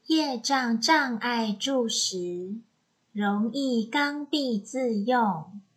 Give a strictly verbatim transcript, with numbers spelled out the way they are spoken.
业障障碍住时，容易刚愎自用，